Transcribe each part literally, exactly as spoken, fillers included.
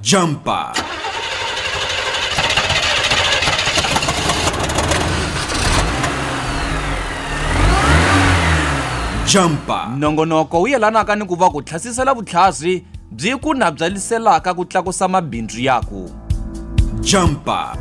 Jumper. Jumper. Nongonoko wu yelanaka ni ku va ku thlasisela vutlhasi byi ku nabdzaliselaka ku tlakusa mabindzu yako. Jumper.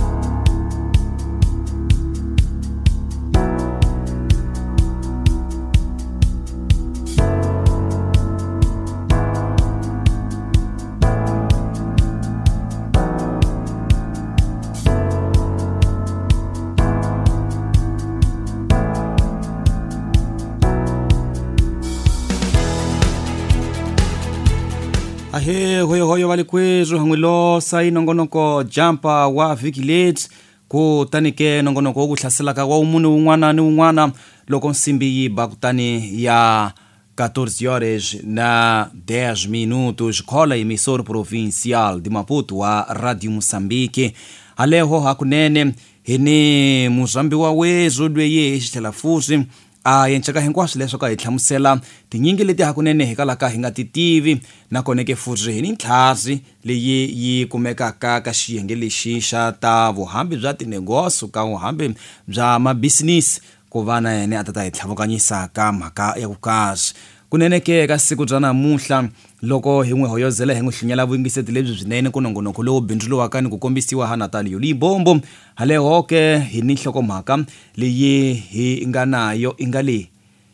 Ahe hoyo hoyo valikwezo hangwilo sai nongonoko Jumper wa Vigilate ku tanike nongonoko wo kuhlaselaka wa umunhu un'wana ni un'wana loko nsimbi yi ba kutani ya catorze horas na dez minutos khola emissora provincial de Maputo wa Radio Moçambique. Aleho hakunene hini muzambi wa wezo lweyi xithlela fusi a yenchaka hinkwaswo leswo ka hi hlamusela tinyingi leti hakunene hi kalaka hi nga ti tivi na koneke futhi hi ni ntlhasi leyi yi kumekaka ka xiyenge lexi xa ta vuhambi bya tinegoso ka vuhambi bya mabusiness ku va na yena a ta hi tlhavukanyisa ka mhaka ya ku kahle kuneneke ka siku bya namuhla loko hi n'wi hoyozela hi n'wi hlunyela vuyingiseti lebyi byinene ku nongonoko lowu bindzuliwaka ni ku kombisiwa ha Natal Yoli Bombo haleho ke hi ni nhlokomhaka leyi hi nga nayo inga le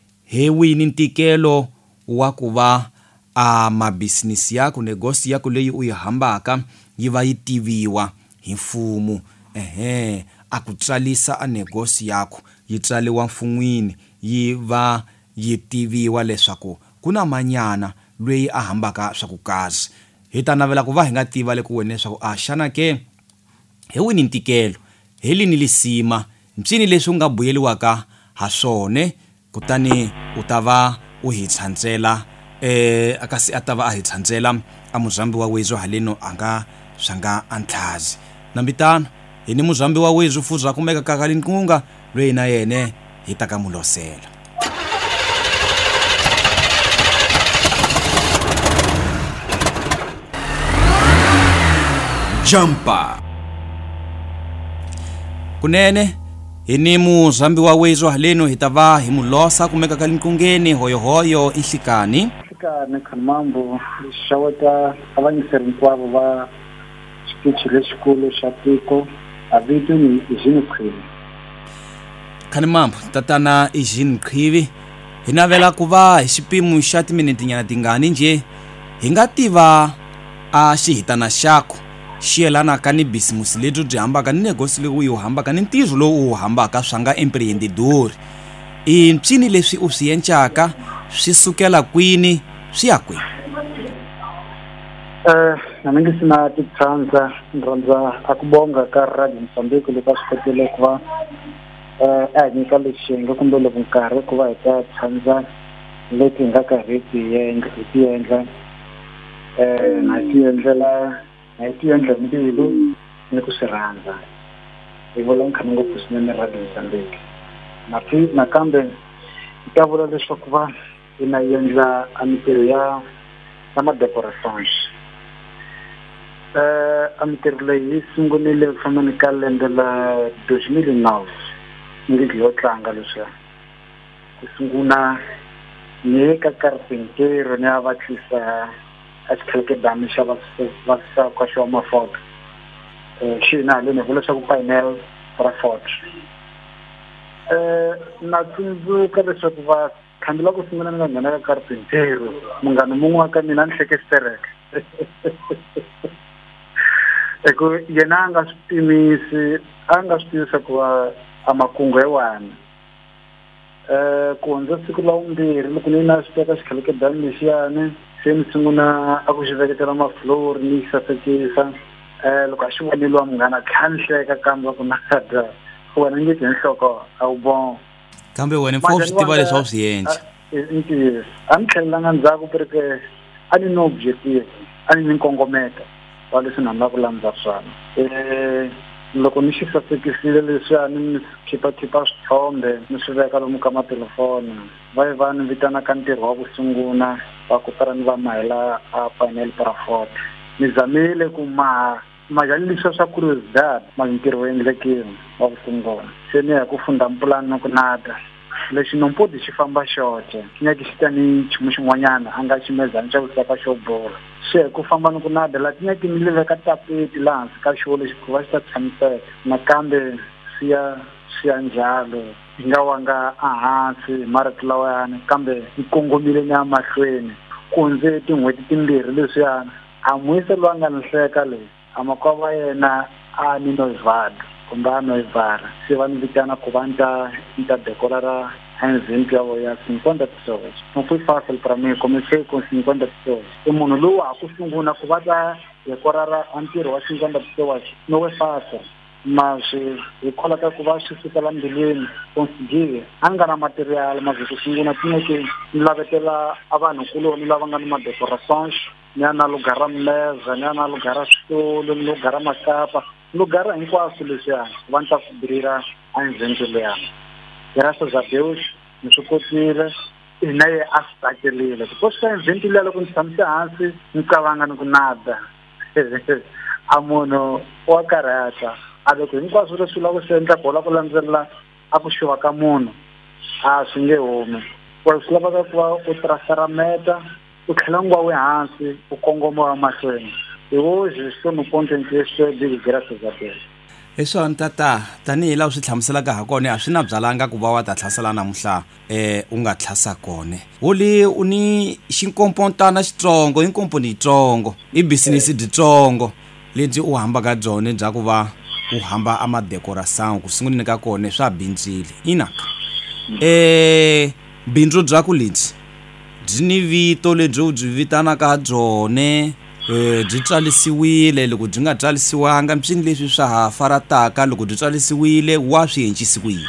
he wini ntikelo wa ku va a mabusiness yako negosi yako leyi u yi hambaka yi va yi tiviwa hi mfumo ehe a ku tsalisa a negosi yako yi tsaliwa mfumwini yi va yi tiviwa leswaku kuna manyana lweyi a hambaka swa ku kahle hi ta navela ku va hi nga tiva le ku wena leswaku a xana ke he wini ntikelo heli ni lisima ncini leswi nga buyeliwaka ha swone kutani u ta va u hi tshantsela eh akasi atava a hi tshantsela a muzambi wa wezo haleno anga swanga antlazi nambitana hi ni muzambi wa wezo fuza kumeka ka kalinkunga lweyi na yene hi ta ka mulosela. Jumper. Kunene hini muzambi wa wezo haleno hitava hi mulosa kumeka kalinkungeni hoyo hoyo ihlikani ihlikani khanimambo xaweta avanyiseri hinkwavo va xitichi lexikulu xa tiko a vito ni Eugene Qhivi. Khanimambo tatana Eugene Qhivi hi navela ku va hi xipimu xa timinitinyana tingani nje hi nga tiva a xihitana xako xiyelana ka ni business lebyo byi hambaka ni negosi leyi u hambaka ni ntirho lowu u hambaka swa nga emprendedor i ncini leswi u swi endlaka swi sukela kwini swi ya kwini. eh na ngi sina titsanza ndronza akubonga ka Radio Mozambique loko swi ku va eh a nyika lexinga kumbe loko nkarhi ku va hi ta tsanza leti nga karhi ti endla ti endla eh na ti endlela na ti endla mbilu ni ku sirhandza hi vula nkhani ngopfu swinene Radio Mozambique na fi nakambe ta vula leswaku va ina endla amitirho ya sama decorations eh amitirho leyi sungulile ku famba ni ka lembe la deux mille neuf ngi yo tlanga leswi ku sungula ni ka carpentero ni avatlisa asikheke dami xa va va sa ka xo mafoto eh xina le ne vula xa ku panel para foto eh na tsundzuka leswaku va khandila ku sungula na nghena ka carpentero munghana mun'we wa ka mina ni hlekestereke eko yena a nga swi timisi a nga swi tivisa ku va a makungu ewani eh ku hundza siku la vumbirhi loko ni na swi teka xikheleke dami lexiyani se ni sungula a ku xi veketela maflori ni sasekisa eh loko a xi voneliwa munghana tlhanhleka kambe ku nakada ku wena nge tinhloko a wu bon kambe wena mfo swi tiva leswi a swi endla intiso a ni tlhelelanga ndzhaku pereke a ni no objective a ni ni nkongometa wa leswi na nga ku landza swona eh loko ni xi sasekisile leswiya ni khipa-khipa swithombe ni swi veka lomu ka matelefoni va yi va ni vitana ka ntirho wa ku sungula va ku tara ni va mahela a panel para foto ni zamile ku ma majalisa swa curiosidade mas ntirho wo endlekile wa kusungula se ni ya ku funda mpulani no ku nada lexi nompodi xi famba xoxe nyaki xi ta ni nchumu xin'wanyana a nga ximezana xa ku saka xo bola se ku famba ni ku nada la tinyaki ni le veka tapeti laha hansi ka xo lexi ku va xi ta tshamiseka nakambe siya siya njalo hi nga wanga ehansi hi marito lawayani kambe ni kongomile ni ya mahlweni ku ndze tin'hweti timbirhi leswiyani a mwise loyi a nga ni hleka leyi a makwava yena a ni noivhada kumbe a noivhara se va ni vitana ku va ni ta ni ta decolara endzeni ya vo ya cinquanta pessoas não foi fácil para mim comecei com cinquanta pessoas e munhu lowu a ku sungula ku va ta decorara a ntirho wa cinquanta pessoas não é fácil mas hikwalaho ka ku va swi sukela mbilwini conseguir a nga na material mas ku sungula tineke ni lavetela a vanhukuloni lava nga ni madecorações ni ya na lugara mileza ni ya na lugara switulu ni lugara makapa lugara hinkwaswo leswiyani va ni ta ku birira endzeni leyani graças a Deus ni swi kotile na ye a swi tsakerile because ka endzeni liya loko ni tshamise hansi ni kavanga ni ku nada a munhu wa karhata a loko hinkwaswo leswi lava ku swi endla bola ku landzelela a ku xuva ka munhu a swi nge humi ku swi lavaka ku va u tirasara meta u tlhela ngwa we hansi u kongoma wa mahlweni hi hoje swi ni ponto in question big graças a Deus hi swona tata tanihi laha swi hlamuselaka ha kona a swi na byalanga ku va wa ta tlhasela namuntlha eh u nga tlhasa kone woli u ni xinkompontana xitsongo inkomponi yitsongo i business dyitsongo lebyi u hambaka byone bya ku va u hamba amadecoração ku sunguleni ka kone swa bindzile inaka eh bindzu bya ku lebyi byi ni vito lebyi u byi vitanaka byone eh byi tsarisiwile loko byi nga tsarisiwanga mpini leswi swa ha farataka loko byi tsarisiwile wa swi henchisi ku yini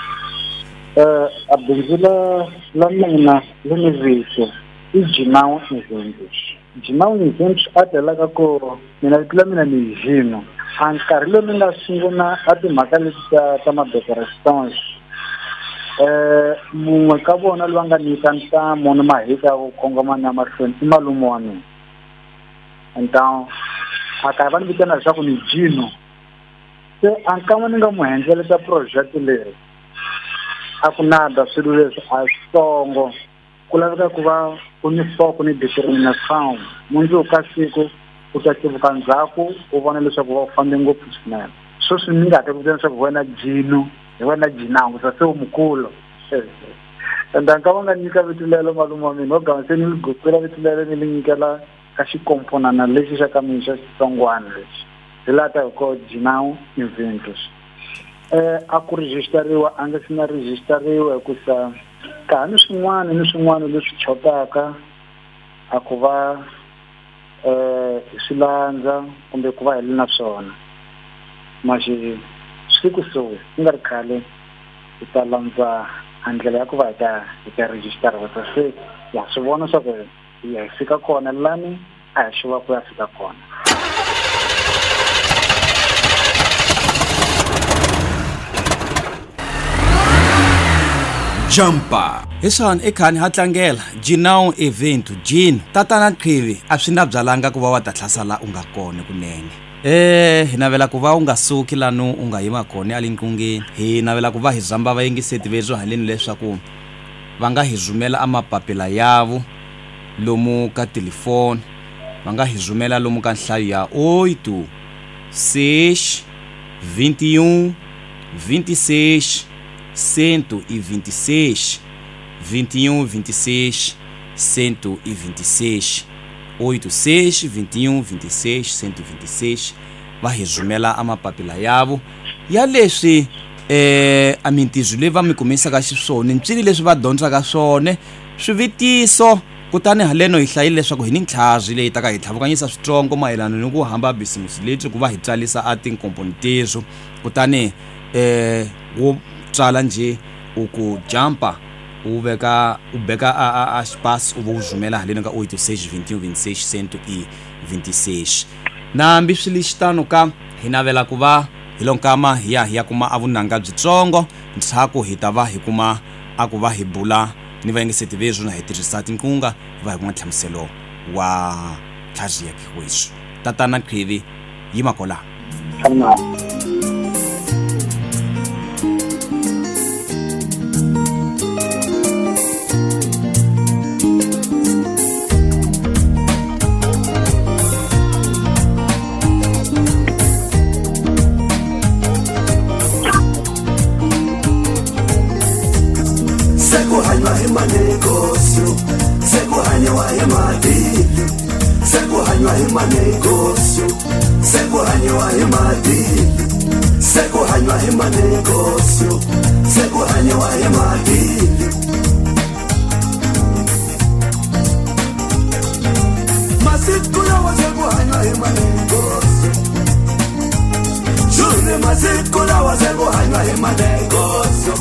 eh a bindzu la la mina le ni vito i Jinau Eventos Jinau Eventos a telaka ko mina vitla mina ni Jino a nkarhi lowu ni nga sungula a timhaka leti ta ta madecorações eh mun'we ka vona loyi nga nyika ntamu ni mahika ya ku kongoma na mahlweni i malume wa mina então a ka va ni vitana leswaku ni Jino se a nkama ni nga mu hendzeleta project leri a ku nada swilo leswi a switsongo ku laveka ku va ku ni foko ni determinação mundzuku ka siku u ta tivuka ndzhaku u vona leswaku va u fambe ngopfu swinene swo swi ni nga ta ku vitana leswaku wena Jino hi wena Jinangu se u mukulu enda ka va nga nyika vito lelo malume wa mina o gama se ni li gokela vito lelo ni li nyikela ka xikomponana lexi xa ka mina xa xitsongwana lexi hi laha ta ko Jinau Eventos eh a ku registeriwa a nga si na registeriwa hikusa ka ni swin'wana ni swin'wana leswi chotaka a ku va eh swilandza kumbe ku va heli na swona maji swi kusuhi ku nga ri khale hi ta landza andlela ya ku va hi ta hi ta register wa se ya swi vona swa ku ya fika kona lani a hi xuva ku ya fika kona jumpa hi swona i khani ha tlangela Jinau Eventos Jino tatana Qhivi a swi na byalanga ku va wa ta tlhasala u nga kone kunene eh hi navela ku va u nga suki lano u nga yima kone alinqungeni hi navela ku va hi zamba va yingiseti vezwo haleni leswaku va nga hi zumela amapapila yavo lomu ka telefone va nga hi zumela lomu ka nhlayo ya oito seis vinte e um vinte e seis cento e vinte e seis vinte e um vinte e seis cento e vinte e seis oito seis vinte e um vinte e seis cento e vinte e seis va hi zumela amapapila yavo ya leswi eh a mintizo leyi va mi kumisaka xiswona ncini leswi va dyondzaka swona swivitiso kutani haleno hi hlayile leswaku hi ni ntlhazi leyi ta ka hi tlhavukanyisa switsongo mayelana ni ku hamba business lebyi ku va hi tsalisa a tinkomponi tezo kutani eh wo tsala nje u ku jumpa u veka u beka a a space u vo zumela haleno ka oito seis vinte e um vinte e seis cento e vinte e seis nambi swili xitano ka hi navela ku va hi lonkama hi ya hi ya kuma avunanga byitsongo ntshaku hi ta va hi kuma a ku va hi bula ni va yingiseti vezwo na hi tirhisa tinkunga hi va hi kuma tlhamuselo wa tlhazi ya kwiso tatana Qhivi yimakola Sana. Sekuhanywa imanegosyo, sekuhanywa imadili, sekuhanywa imanegosyo, sekuhanywa imadili, sekuhanywa imanegosyo, sekuhanywa imadili. Masikula wa sekuhanywa imanegosyo, jure masikula wa sekuhanywa imanegosyo.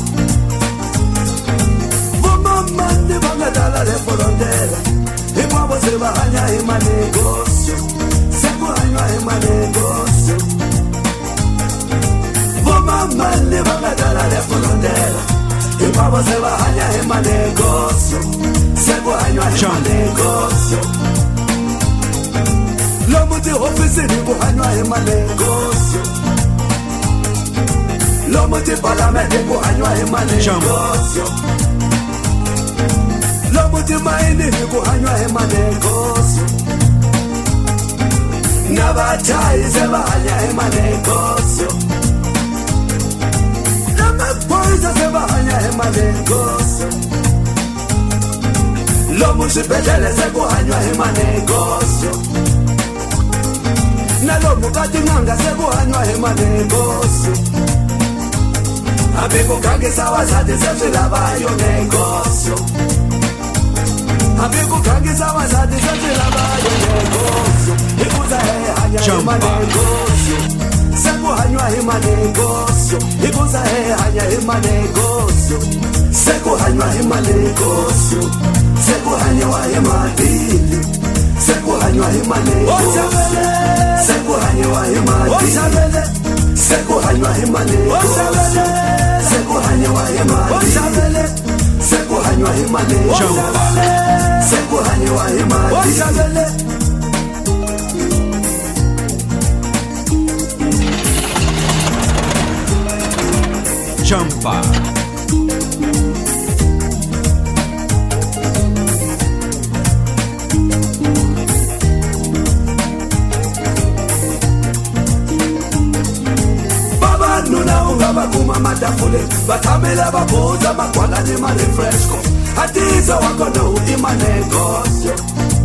Mande bangadala le frontera, e pavo se bahanya e manegosyo, se kuhanywa e manegosyo. Voma mande bangadala le frontera, e pavo se bahanya e manegosyo, se kuhanywa e manegosyo. Lomu ti ofisi ni kuhanywa e manegosyo, lomu ti parlamenti kuhanywa e manegosyo. Lomuti maini kuhanywa emanegosyo, nabachayi sebahanya emanegosyo, namaphoyisa sebahanya emanegosyo, lomusibhedlele sekuhanywa emanegosyo, nalomukatinanga sekuhanywa emanegosyo, abikukangisa wazati seswilabayo negosyo. Amigo kangisa wazadi sefila bayo negosyo, ikuza he hanya hima negosyo, seku hanywa hima negosyo, ikuza he hanya hima negosyo, seku hanywa hima negosyo, seku hanywa hima dili, seku hanywa hima negosyo, seku hanywa hima dili, seku hanywa hima negosyo, seku hanywa hima dili, seku hanywa hima negosyo. Sekuhanywa imadili, Jumper. Baba nuna unga bakuma matafule, batamela babuza makwala ni marefresco. Hatiza wako no imanegosyo,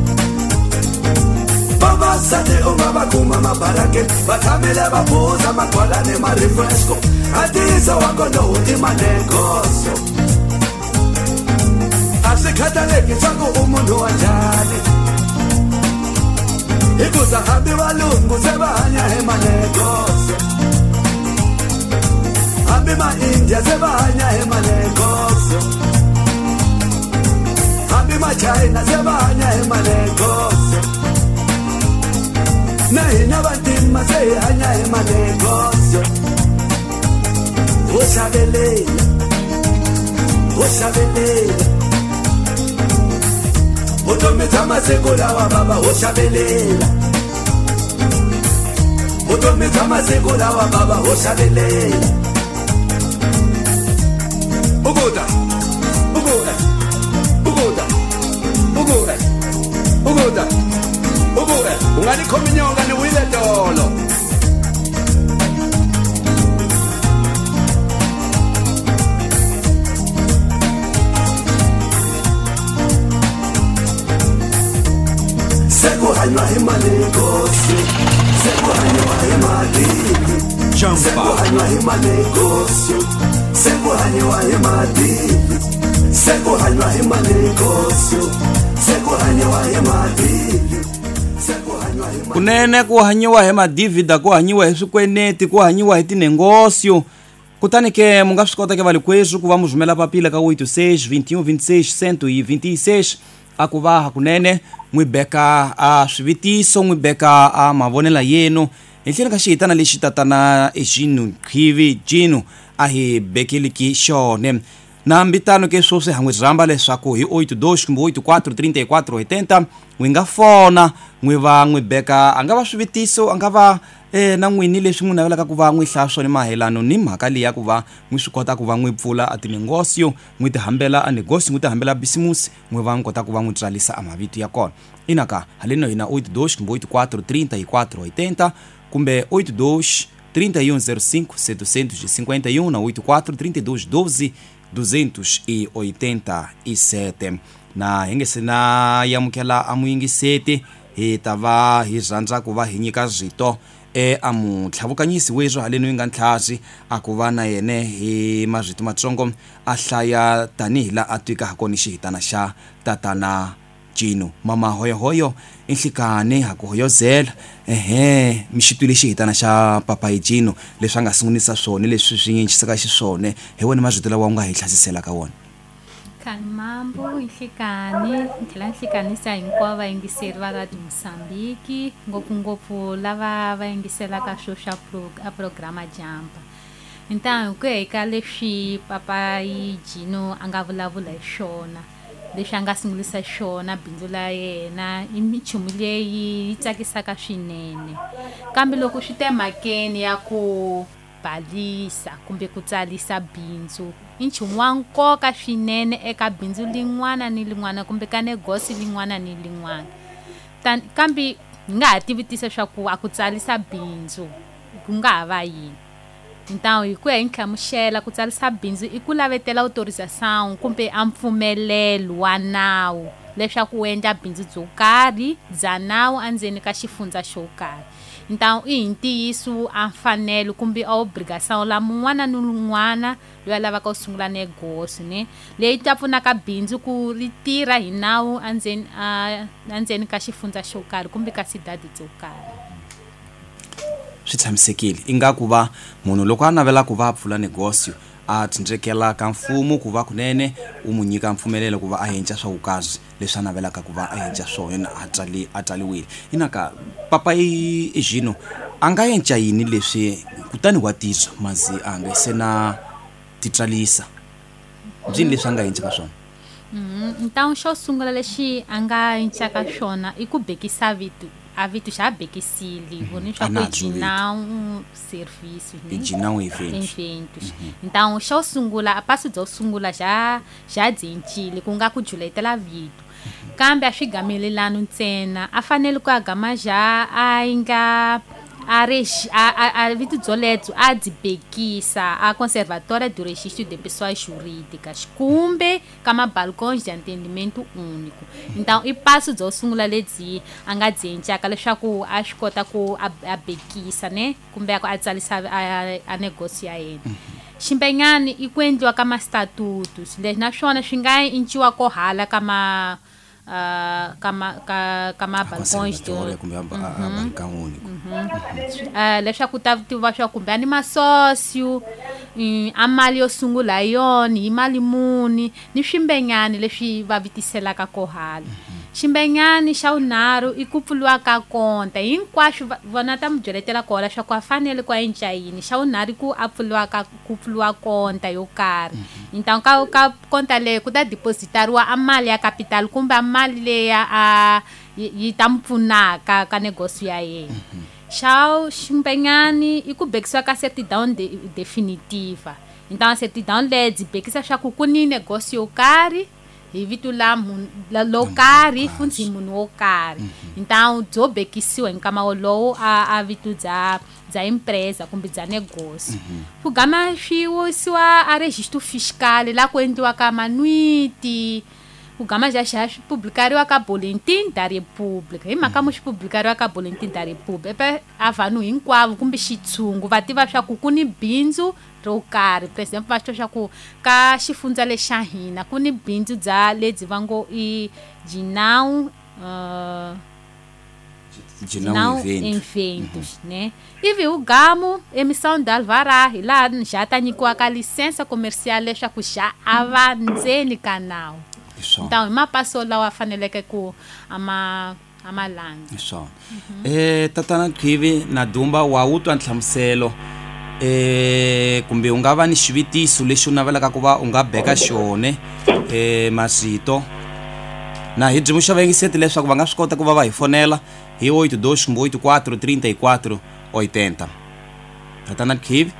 baba sate unga bakuma mabarake, batamele babuza makwala ni marefresco. Hatiza wako no imanegosyo, asikhataleki changu umuntu wanjani, ikuza hambi balungu sebahanya emanegosyo, hambi ma India sebahanya emanegosyo, Abima China sebahanya emanegosyo, nahina bantima sehanya emanegosyo. Oshabelela, oshabelela, utomita masekula wa baba oshabelela, utomita masekula wa baba oshabelela. Ugoda, ugoda, ugoda, ugoda, ugoda, ugoda. Ungani kominyonga ni wile dolo. Sekuhanywa imanegosyo, sekuhanywa imadili, sekuhanywa imanegosyo, sekuhanywa imadili, sekuhanywa imanegosyo, sekuhanywa imadili, sekuhanywa imadili. kunene kuhanyiwa he madivida, kuhanyiwa he swikweneti, kuhanyiwa he tinegócio. Kutani ke munga swi kota ke vali kwesu ku va muzumela papila ka oito seis, vinte e um, vinte e seis, cento e vinte e seis. A ku va hakunene n'wi beka a swivitiso, n'wi beka a mavonela yenu hi tlhelo ka xihitana lexi tatana Eugene Qhivi Jinu a hi bekeliki xone. na mbitano ke swo swi hangwe rhamba leswaku hi eight two kumbe eight four three four eight zero n'wi nga fona n'wi va n'wi beka a nga va swivitiso a nga va eh na n'wini leswi n'wi navelaka ku va n'wi hlaya swona mahelano ni mhaka leyi ya ku va n'wi swi kota ku va n'wi pfula a tinegosio n'wi ti hambela a negosio n'wi ti hambela business n'wi va n'wi kota ku va n'wi tsarisa a mavito ya kona inaka haleno hina eight two kumbe eight four three four eight zero kumbe eight two three one zero cinco setecentos e cinquenta e um na eight four three two one doze duzentos e oitenta e sete na hi nge se na yamukela a muyingiseti hi ta va hi rhandza ku va hi nyika zito e a mutlhavukanyisi wezwo haleno yi nga ntlhazi a ku va na yene hi mazito matsongo a hlaya tanihi la a twika hakoni xihitana xa tatana Jino mama hoyo hoyo inhlikane ha ku hoyozela ehe mixitwile xihitana xa papa Jino leswi nga sungulisa swona leswi swi nyinchisaka xiswone hi wena mazito lawa u nga hi hlasisela ka wona Khani mambo inhlikane nthlela nhlikanisa hinkwavo vayingiseri va Radio Mozambique ngopfungopfu lava va yingiselaka swo xa a programa Jampa Então ku eka leswi papa Jino a nga vulavula hi swona leswi a nga sungulisa xona bindzu la yena i minchumu leyi yi tsakisaka swinene kambe loko swi te makeni ya ku balisa kumbe ku tsalisa bindzu i nchumu wa nkoka swinene eka bindzu lin'wana ni lin'wana kumbe ka negosi lin'wana ni lin'wana kambe hi nga ha tivitisa swa ku a ku tsalisa bindzu ku nga ha va yini Então hi ku ya hi nhlamuxela ku tsalisa bindzu i ku lavetela autorização kumbe a mpfumelelo wa nawu leswaku u endla bindzu byo karhi bya nawu endzeni ka xifundza xo karhi Então i hi ntiyiso a mfanelo kumbe a obrigação la mun'wana ni un'wana loyi a lavaka ku sungula negosio ne leyi ta pfunaka bindzu ku ri tirha hi nawu endzeni endzeni ka xifundza xo karhi kumbe ka sidadi byo karhi swi tshamisekile ingaku va munhu loko a navela ku va pfula negosio a tindrekela ka mfumo ku va kunene u mu nyika mpfumelelo ku va a endla swa vukazi leswi a navelaka ku va a endla swona a tsali a tsaliwile inaka papa Jino a nga endla yini leswi kutani wa tisa mazi a nga se na titsalisa byini leswi a nga endla ka swona Então xo sungula lexi a nga endlaka swona i ku bekisa vito a vito xa bekisili voni swa ku Jinão serviço né Jinão eventos Então xo sungula a passo byo sungula já já dzentile ku nga ku juletela vito kambe a swigamelelano ntsena a fanele ku agama já a inga a regi a a vito byoletso a dzibekisa a conservatória do registro de pessoas jurídicas kumbe kama balcões de atendimento único Então i passo byo sungula ledzi a nga dzenjaka leswaku a swi kota ku a bekisa ne kumbe a tsalisa a negócio ya yena ximbenyani i ku endliwa ka ma statutos leswi naswona swi nga inciwa ko hala kama Uh, kama ka kama balcões de kumbe balcão único uh, leswaku ta tiva swa kumbe ani masócio a mali yo sungula yoni i mali muni ni swimbenyani leswi va vitiselaka ko hala ximbenyani xa unharhu i ku pfuriwa ka konta hinkwaswo vona ta mu byeletela kona swa ku a fanele ku endla yini xa unharhu ku a pfuriwa ka ku pfuriwa konta yo karhi Então ka ka konta leyi ku ta depositariwa a mali ya capital kumbe a mali leya a yi ta mpfunaka ka negosio ya yena xa ximbenyani i ku bekisiwa ka certidão de, definitiva Então a certidão leyi dzibekisa swa ku ku ni negosio yo karhi hi vito la lo karhi futhi munhu wo karhi Então byo bekisiwa hi nkama wolowo a a vito bya bya empresa kumbe bya negosio ku gama swiwisiwa a registro fiscal la ku endliwa ka manuiti ku gama já xa publicariwa ka boletim da república hi mhaka mu xi publicariwa ka boletim da república a vanhu hinkwavo kumbe xitshungu va tiva swa ku ku ni bindzu ro karhi por exemplo va swi swa ku ka xifundza lexa hina ku ni bindzu bya lebyi va ngo i Jinão uh, Jinão eventos né ivi o gamo emissão da alvará lá já tá nyikiwaka licença comercial leswaku xa ava ndzeni ka nawu Então i mapaso lawa faneleke ku ama amalanga so eh tatana Khivi na dumba wa utwa nhlamuselo eh kumbe u nga va ni xivitiso lexi u navelaka ku va u nga beka xone eh Mazito na hi byi muxava yingiseti leswaku va nga swi kota ku va va hi fonela hi oito dois kumbe oito quatro trinta e quatro oitenta. Tatana Khivi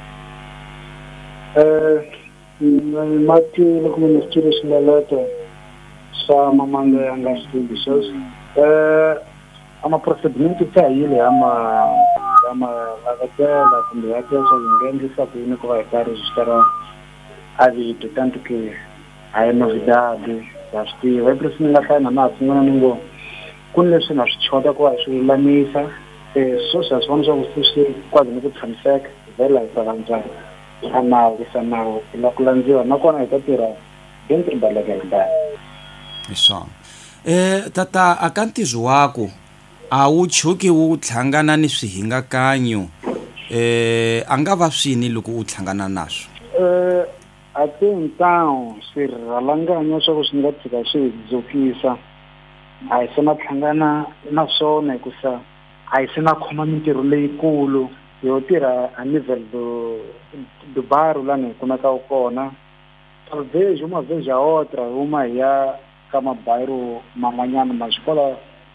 eh mati loko mi studio singaleto sa mamanga ya nga studios eh ama procedimento ta yile ama ama lagatela kumbe ya tesa ngendisa ku ine ku va ka register a vito tanto que a novidade ya sti vai precisar lá na mapa não ningo kun leswi na swi chota ku va swi lamisa eh so sa swona swa ku swi kwadi ni ku tshamiseka vela hi tsavanga ana isana la kulandziwa nakona ita tirha dentro da legalidade. Isso. Eh tata akantizo wako a wu chuki wu tlhangana ni swihingakanyo eh anga va swini loko u tlhangana naswo. Eh ati então swirhalanganya swa ku swi nga tshika swi dzokisa a hi sena tlhangana na swona hikusa a hi sena khoma mintirho leyikulu yo tirha a nível do do bairro lá ni kumeka kona talvez uma vez a outra uma ya kama bairro man'wanyana ma xikola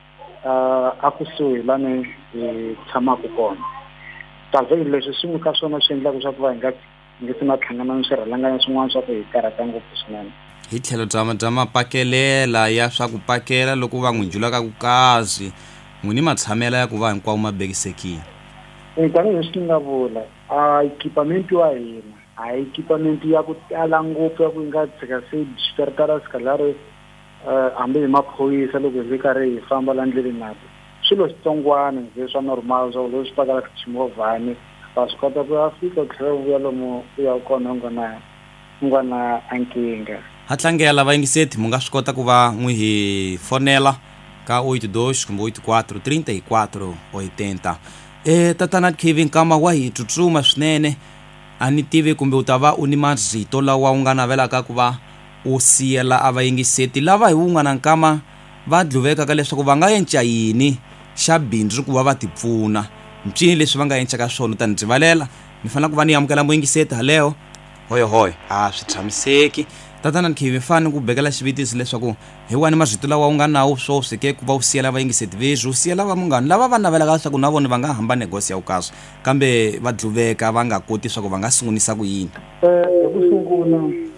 a kusuhi la ni tshamaka kona talvez leswi swi ka swona swi endlaka swa ku va hi nga nge sina tlhangana ni swirhalanganya swin'wana swa ku hi karata ngopfu swinene hi tlhelo bya bya mapakelela ya swa ku pakela loko va n'wi njulaka ku kazi n'wini matshamela ya ku va hinkwawo ma bekisekile. Tani leswi nga vula a equipamento wa hina a equipamento ya ku tala ngopfu ya ku nga tshika se xitertara sikalari hambi hi maphoyisa loko hi karhi hi famba la ndleleni nato swilo switsongwana nge swa normal swa leswi pakalaka ximovhani va swi kota ku ya fika ku tlhela vuya lomu ku ya kona nga na nga na ankinga. Ha tlangela vayingiseti mu nga swi kota ku va n'wi hi fonela ka oito dois kumbe oito quatro trinta e quatro oitenta. Eh tatana Kevin kama wa hi tsutsuma swinene a ni tivi kumbe u ta va u ni Mazito lawa u nga navelaka ku va u siyela a vayingiseti lava hi wun'wana nkama va dluveka ka leswaku va nga yenca yini xa bindzu ku va va tipfuna ncini leswi va nga yenca ka swona ta ni dzivalela ni fanele ku va ni amukela muyingiseti haleo hoyo hoyo a swi tshamiseki tatana Kevin fane ku bekela xivitisi leswaku hi wani Mazito lawa u nga nawu swo sike ku va u siyela vayingiseti vezu u siyela va mungani lava va navelaka leswaku na vona va nga hamba negosi ya ukaso kambe va dluveka va nga koti swa ku va nga sungunisa ku yini. Eh ku sungula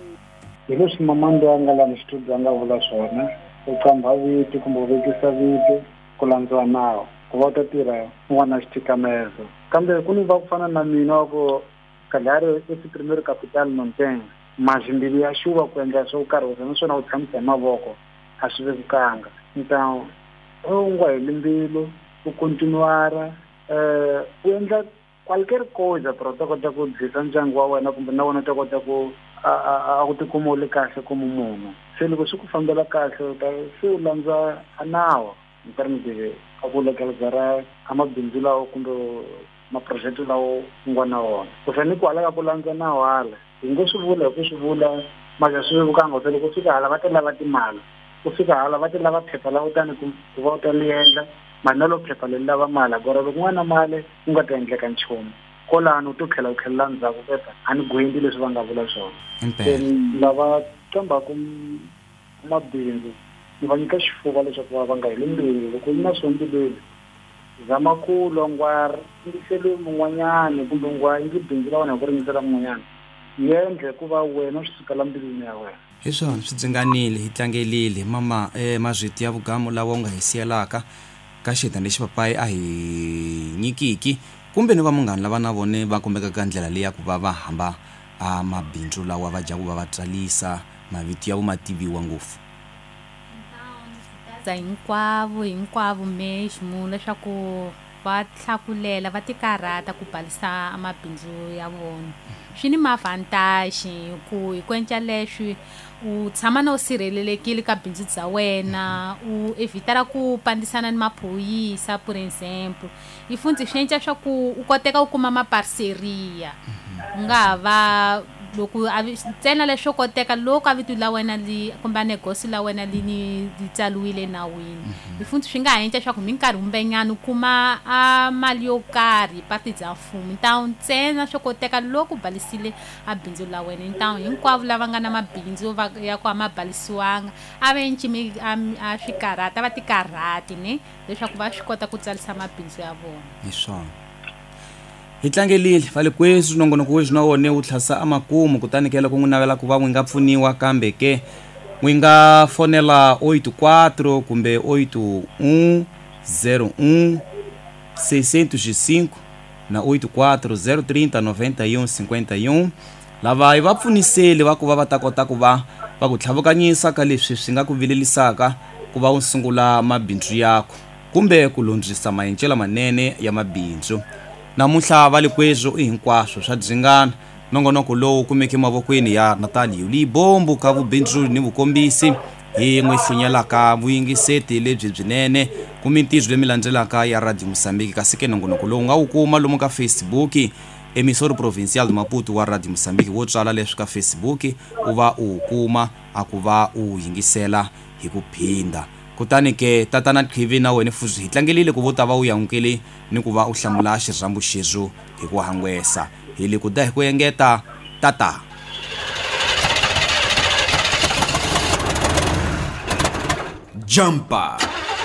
hi leswi mamando a nga la ni studio a nga vula swona u kamba viti kumbe u vekisa viti ku landziwa nawu ku va u ta tirha n'wana xitikamezo kambe ku ni va ku fana na mina wa ku kalari i primeiro capital mountain mazimbili ya xuva ku endla swo karhi naswona u tshamisa hi mavoko a swi vekanga então u nga heli mbilu u continuara eh u endla qualquer coisa para u ta kota ku dzisa ndyangu wa wena kumbe na wena u ta kota ku a ku tikuma u le kahle como munhu se loko swi ku fambela kahle u ta se u landza a nawu in terms de a ku legalizara amabindzu lawo kumbe maprojekti lawo u nga na wona u fanele ku halaka ku landza nawu hala hi ngo swi vula hi ku swi vula mara swi vukanga se loko fika hala va ta lava timali ku fika hala va ta lava phepha la utani ku va u ta liendla mali na lo phepha le lava mali gore loko n'wana mali u nga ta endleka nchumu kolano u to tlhela u tlhelela ndzhaku keta a ni gwendi leswi va nga vula swona lava kambaku mabindzu ni va nyika xifuva leswaku va nga heli mbilu loko yi na swombileli zama ku longwa ngisele mun'wanyani kumbe ngwa ngi bindzu la wena ku ringisela mun'wanyani yendle ku va wena swi sukela mbilwini ya wena hi swona swi dzinganile hi tlangelile mama eh Mazito ya vugamu lawa u nga hi siyelaka ka xita lexi papai a hi nyikiki kumbe ni va munghana lava na vone va kombeka ka ndlela leyi ya ku va va hamba a mabindzu lawa va jaku va va tsalisa mavito ya vumativiwa ngopfu za hinkwavo hinkwavo mesmo leswaku va tlhakulela va tikarata ku balisa amabindzu ya vona swi ni mavantaji ku hi kwenca leswi u tshama na u sirhelelekile ka bindzu bya wena u evitara ku pandisana ni maphoyisa por exemplo i fundzi swi endla swa ku u koteka ku kuma maparceria u nga va loko a ntsena leswo koteka loko a vito la wena li kumbe negosi la wena li ni tsaliwile nawini hi futhi swi nga ha endla leswaku minkarhi kumbenyana u kuma a mali yo karhi pati bya mfumo ntawu ntsena swo koteka loko balisile a bindzu la wena ntawu hinkwavo lava nga na mabindzu ya ku amabalisiwanga a ve ncimi a swikarhata va tikarhati ne leswaku va swi kota ku tsalisa mabindzu ya vona hi swona hi tlangelile vale kweswi nongonoko weswi na wone wu tlhasa amakumu kutani kela ku n'wi navela ku va n'wi nga pfuniwa kambe ke n'wi nga fonela oito quatro kumbe oito um zero um seiscentos e cinco na oito quatro zero trinta noventa e um cinquenta e um lava hi va pfuniseli va ku va va ta kota ku va va ku tlhavukanyisa ka leswi swi nga ku vilelisaka ku va u sungula mabindzu yako kumbe ku lundzisa maendlelo manene ya mabindzu namuntlha va le kweswo i hinkwaswo swa dzingana nongonoko lowu kumeke mavokweni ya Natali Libombo ka vubindzu ni vukombisi hi n'wi hlunyelaka vuyingiseti lebyi byinene ku mintizo leyi mi landzelaka ya Radio Mozambique kasi ke nongonoko lowu nga wu kuma lomu ka Facebook emisoro provincial de Maputo wa Radio Mozambique wo tswala leswi ka Facebook u va u kuma a ku va u yingisela hi ku phinda kutani ke tatana Khivi na wena futhi hi tlangelile ku vota va u yangukele ni ku va u hlamula xirhambu xezo hi ku hangwesa hi le ku da hi ku engeta tata Jumper.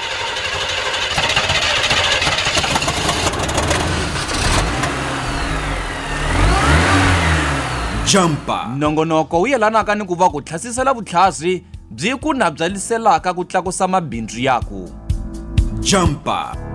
Jumper. nongonoko wu yelanaka ni ku va ku tlhasisela vutlhasi byi ku nabyayiselaka ku tlakusa mabindzu yako Jumper.